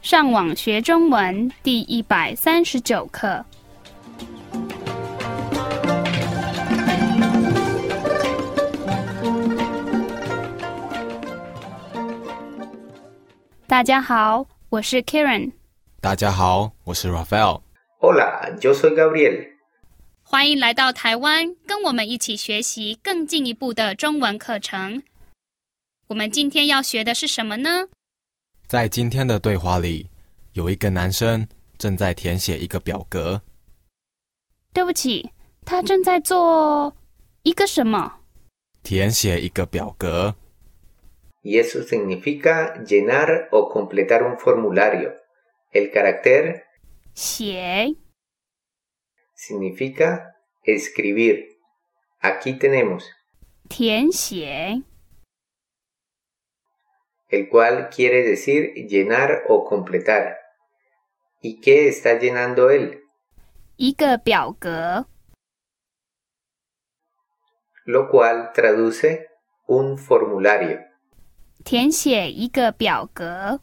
上网学中文第139课。大家好，我是 Karen。 大家好，我是 Rafael。Hola, yo soy Gabriel。 欢迎来到台湾，跟我们一起学习更进一步的中文课程。我们今天要学的是什么呢？ 在今天的对话里，有一个男生正在填写一个表格。 对不起，他正在做一个什么？ 填写一个表格。 Y eso significa llenar o completar un formulario. El carácter 写 significa escribir. Aquí tenemos 填写 el cual quiere decir llenar o completar. ¿Y qué está llenando él? 一个表格 Lo cual traduce un formulario. 填写一个表格。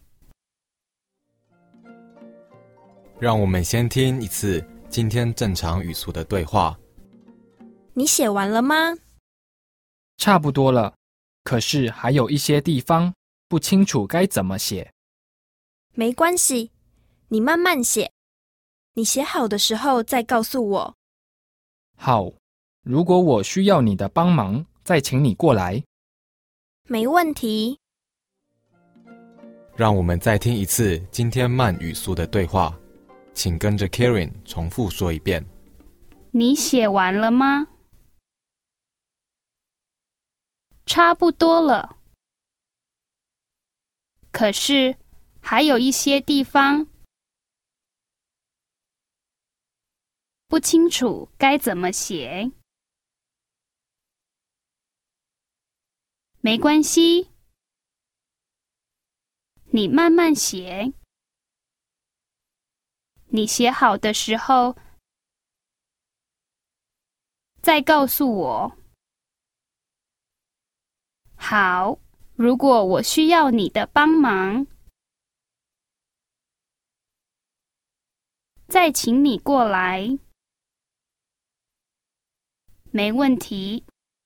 让我们先听一次今天正常语速的对话。 你写完了吗？ 差不多了，可是还有一些地方不清楚该怎么写。 没关系，你慢慢写。你写好的时候再告诉我。 好，如果我需要你的帮忙，再请你过来。 没问题。 让我们再听一次今天慢语速的对话，请跟着 Karen 重复说一遍。 你写完了吗？差不多了，可是还有一些地方不清楚该怎么写。没关系，你慢慢写。你写好的时候再告诉我。好，如果我需要你的帮忙，再请你过来。没问题。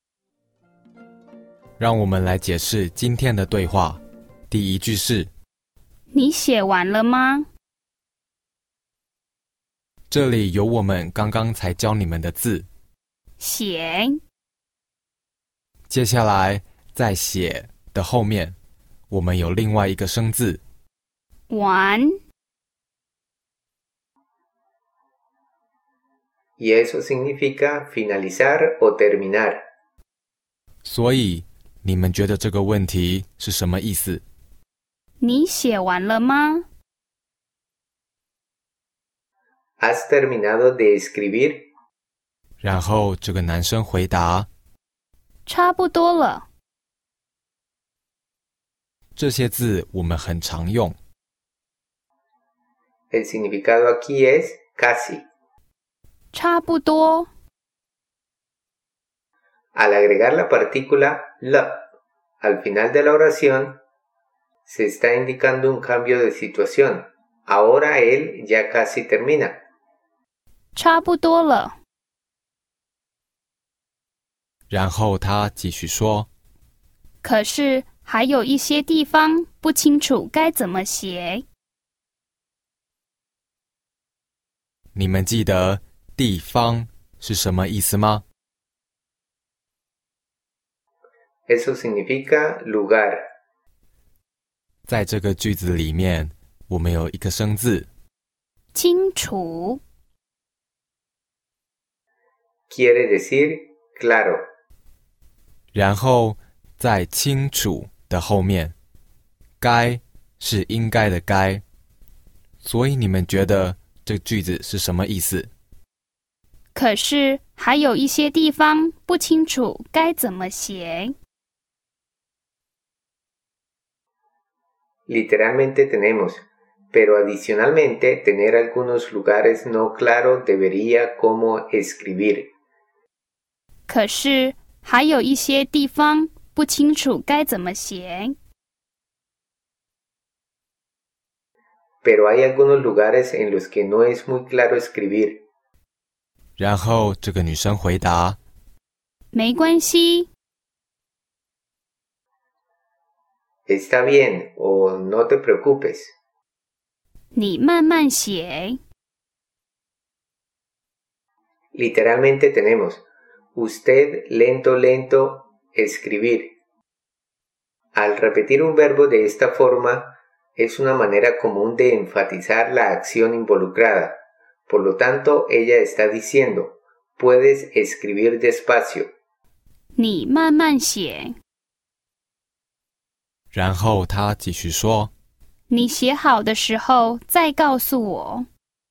让我们来解释今天的对话。第一句是： 你写完了吗？ 这里有我们刚刚才教你们的字。 写。 接下来在写的后面，我们有另外一个生字。 完。 Y eso significa finalizar o terminar. 所以你们觉得这个问题是什么意思？ 你写完了吗？ ¿Has terminado de escribir? 然后这个男生回答： 差不多了。 这些字我们很常用。 El significado aquí es casi. 差不多。 Al agregar la partícula la al final de la oración, se está indicando un cambio de situación. Ahora él ya casi termina. 差不多了。 然后他继续说： 可是还有一些地方不清楚该怎么写。 你们记得地方是什么意思吗？ Eso significa lugar. 在这个句子里面，我们有一个生字。 清楚。 Quiere decir claro. 然后在清楚的后面，该是应该的该。所以你们觉得这句子是什么意思？ 可是还有一些地方不清楚该怎么写。 Literalmente tenemos, pero adicionalmente tener algunos lugares no claro debería como escribir. 可是还有一些地方不清楚该怎么写。 pero hay algunos lugares en los que no es muy claro escribir. 然后这个女生回答没关系， Está bien o no te preocupes. 你慢慢写。 Literalmente tenemos usted lento lento escribir. Al repetir un verbo de esta forma es una manera común de enfatizar la acción involucrada. Por lo tanto, ella está diciendo, puedes escribir despacio. 你慢慢写。 然后她继续说你写好的时候再告诉我。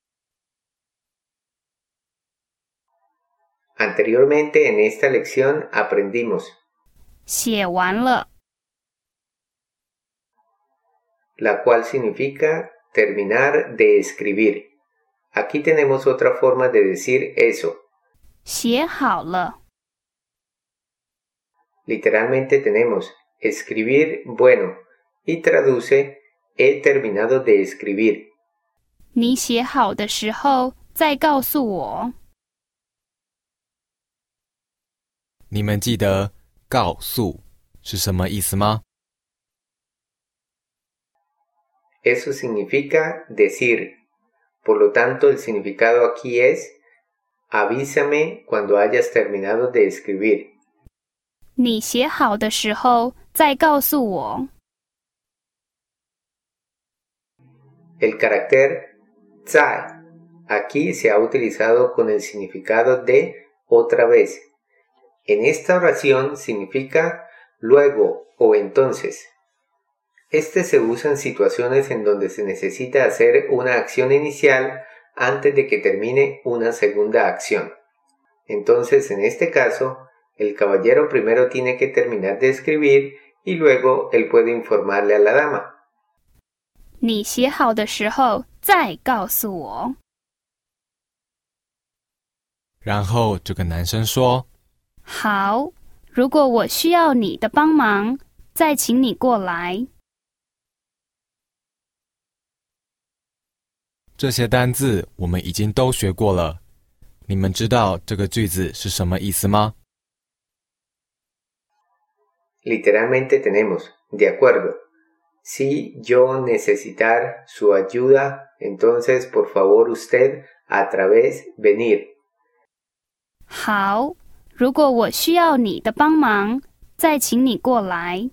Anteriormente en esta lección aprendimos 写完了， la cual significa terminar de escribir. Aquí tenemos otra forma de decir eso. 写好了， Literalmente tenemos escribir bueno y traduce he terminado de escribir. 你写好的时候再告诉我。 你们记得告诉是什么意思吗？ Eso significa decir. Por lo tanto, el significado aquí es avísame cuando hayas terminado de escribir. 你写好的时候再告诉我。 El carácter tsai aquí se ha utilizado con el significado de otra vez. En esta oración significa luego o entonces. Este se usa en situaciones en donde se necesita hacer una acción inicial antes de que termine una segunda acción. Entonces, en este caso, el caballero primero tiene que terminar de escribir y luego él puede informarle a la dama. 你写好的时候再告诉我。 然后这个男生说好，如果我需要你的帮忙，再请你过来。 这些单字我们已经都学过了，你们知道这个句子是什么意思吗？ Literalmente tenemos, de acuerdo. Si yo necesitar su ayuda, entonces por favor usted a través venir. 好，如果我需要你的帮忙，再请你过来。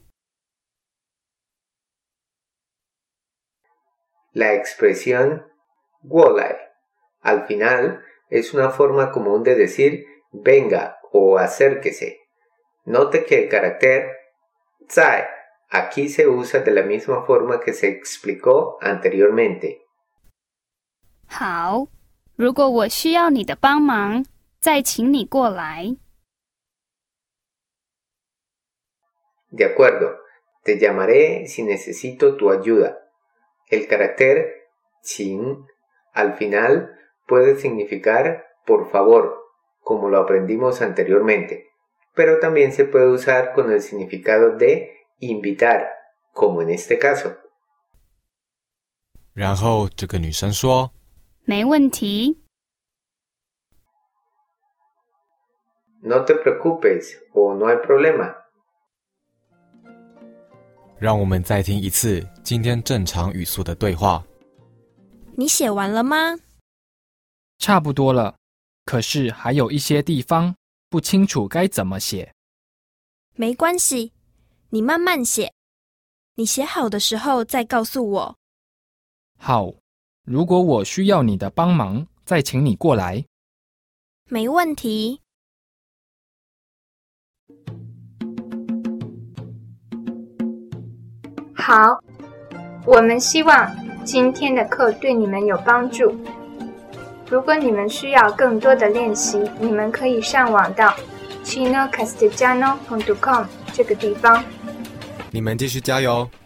La expresión wolai al final es una forma común de decir venga o acérquese. Note que el carácter tsai aquí se usa de la misma forma que se explicó anteriormente. 好，如果我需要你的帮忙，再请你过来。 De acuerdo, te llamaré si necesito tu ayuda. El carácter chin al final puede significar por favor, como lo aprendimos anteriormente, pero también se puede usar con el significado de invitar, como en este caso. 然后这个女生说没问题。 No te preocupes o no hay problema. 让我们再听一次今天正常语速的对话。 你写完了吗？ 差不多了，可是还有一些地方不清楚该怎么写。 没关系，你慢慢写。你写好的时候再告诉我。 好，如果我需要你的帮忙，再请你过来。 没问题。 好，我们希望今天的课对你们有帮助。如果你们需要更多的练习，你们可以上网到 chinocastellano.com 这个地方。 你们继续加油！